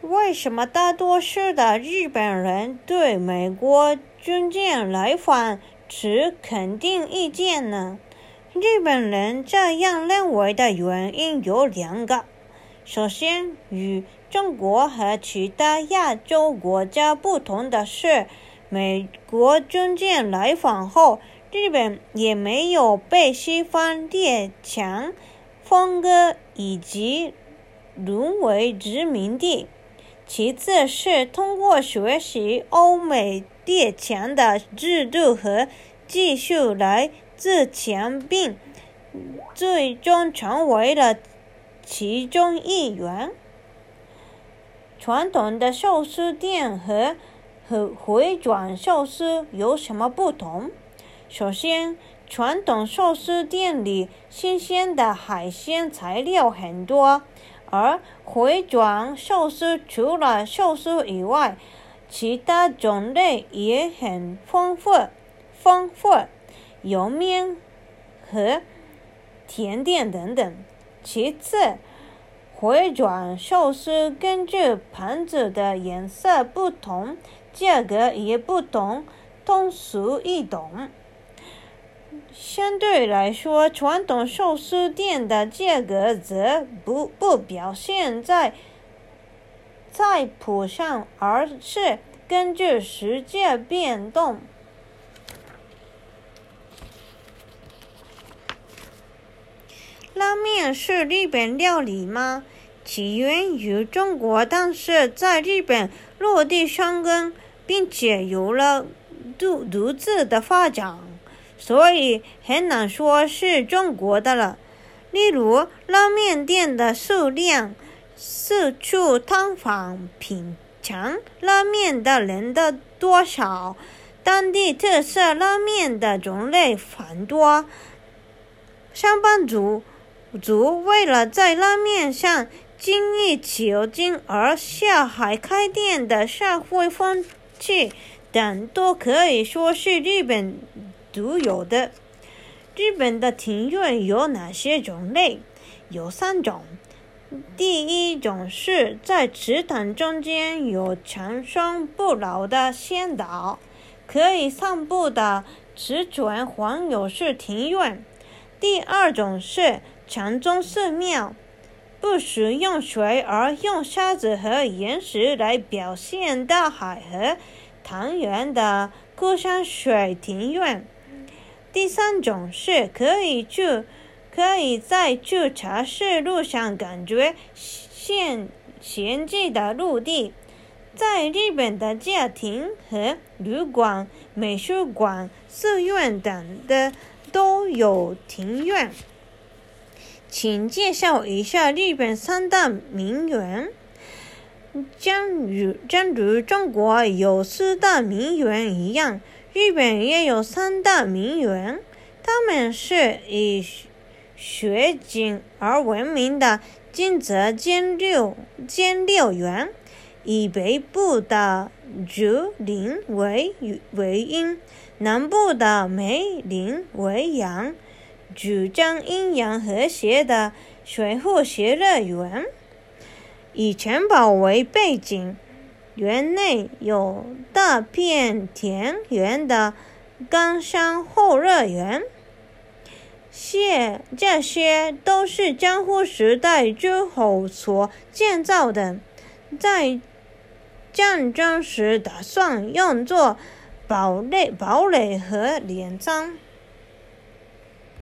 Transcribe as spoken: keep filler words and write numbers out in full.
为什么大多数的日本人对美国军舰来访持肯定意见呢？日本人这样认为的原因有两个。首先，与中国和其他亚洲国家不同的是，美国军舰来访后，日本也没有被西方列强分割以及沦为殖民地。其次是通过学习欧美列强的制度和技术来自强，并最终成为了其中一员。传统的寿司店和和回转寿司有什么不同？首先，传统寿司店里新鲜的海鲜材料很多，而回转寿司除了寿司以外，其他种类也很丰富，丰富，有面和甜点等等。其次，回转寿司根据盘子的颜色不同，价格也不同，通俗易懂。相对来说，传统寿司店的价格则不不表现在菜谱上，而是根据实价变动。拉面是日本料理吗？起源于中国，但是在日本落地生根，并且有了独独自的发展，所以很难说是中国的了。例如，拉面店的数量，四处探访品尝拉面的人的多少，当地特色拉面的种类繁多，上班族族为了在拉面上精益求精而下海开店的社会风气等，都可以说是日本独有的。日本的庭院有哪些种类？有三种。第一种是在池塘中间有长生不老的仙岛，可以散步的池泉环有式庭院。第二种是禅宗寺庙，不使用水而用沙子和岩石来表现大海和汤圆的枯山水庭院。第三种是可以去可以在去茶室路上感觉现闲寂的陆地。在日本的家庭和旅馆、美术馆、寺院等的都有庭院。请介绍一下日本三大名园。正如正如中国有四大名园一样，日本也有三大名园，他们是以雪景而闻名的金泽兼六兼六园，以北部的竹林为为阴，南部的梅林为阳，主张阴阳和谐的水户偕乐园。以城堡为背景，园内有大片田园的冈山后乐园。这些都是江户时代诸侯所建造的，在战争时打算用作堡垒堡垒和镰仓。